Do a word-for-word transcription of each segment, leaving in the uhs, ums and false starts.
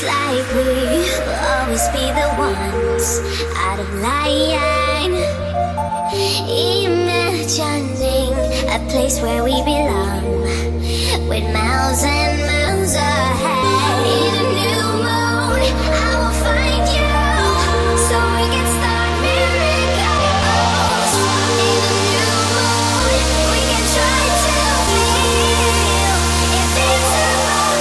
like we will always be the ones out of line, imagining a place where we belong, with miles and miles ahead. In a new moon, I will find you, so we can start miracles. In a new moon, we can try to feel invincible.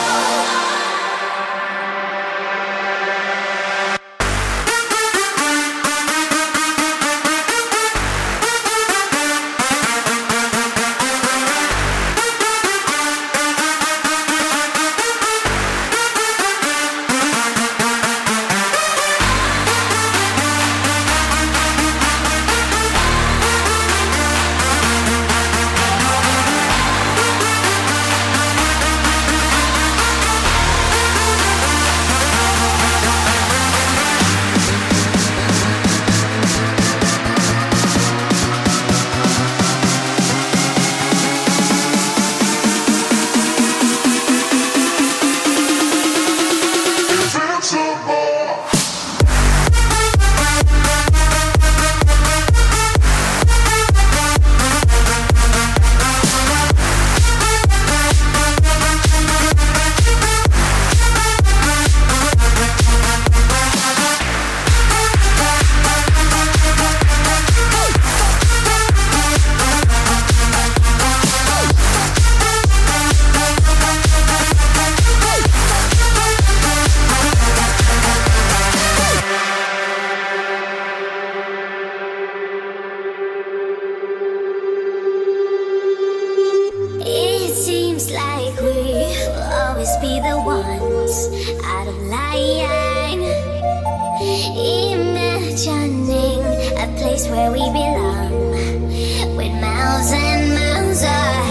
It seems like we will always be the ones out of line, imagining a place where we belong, with miles and miles ahead.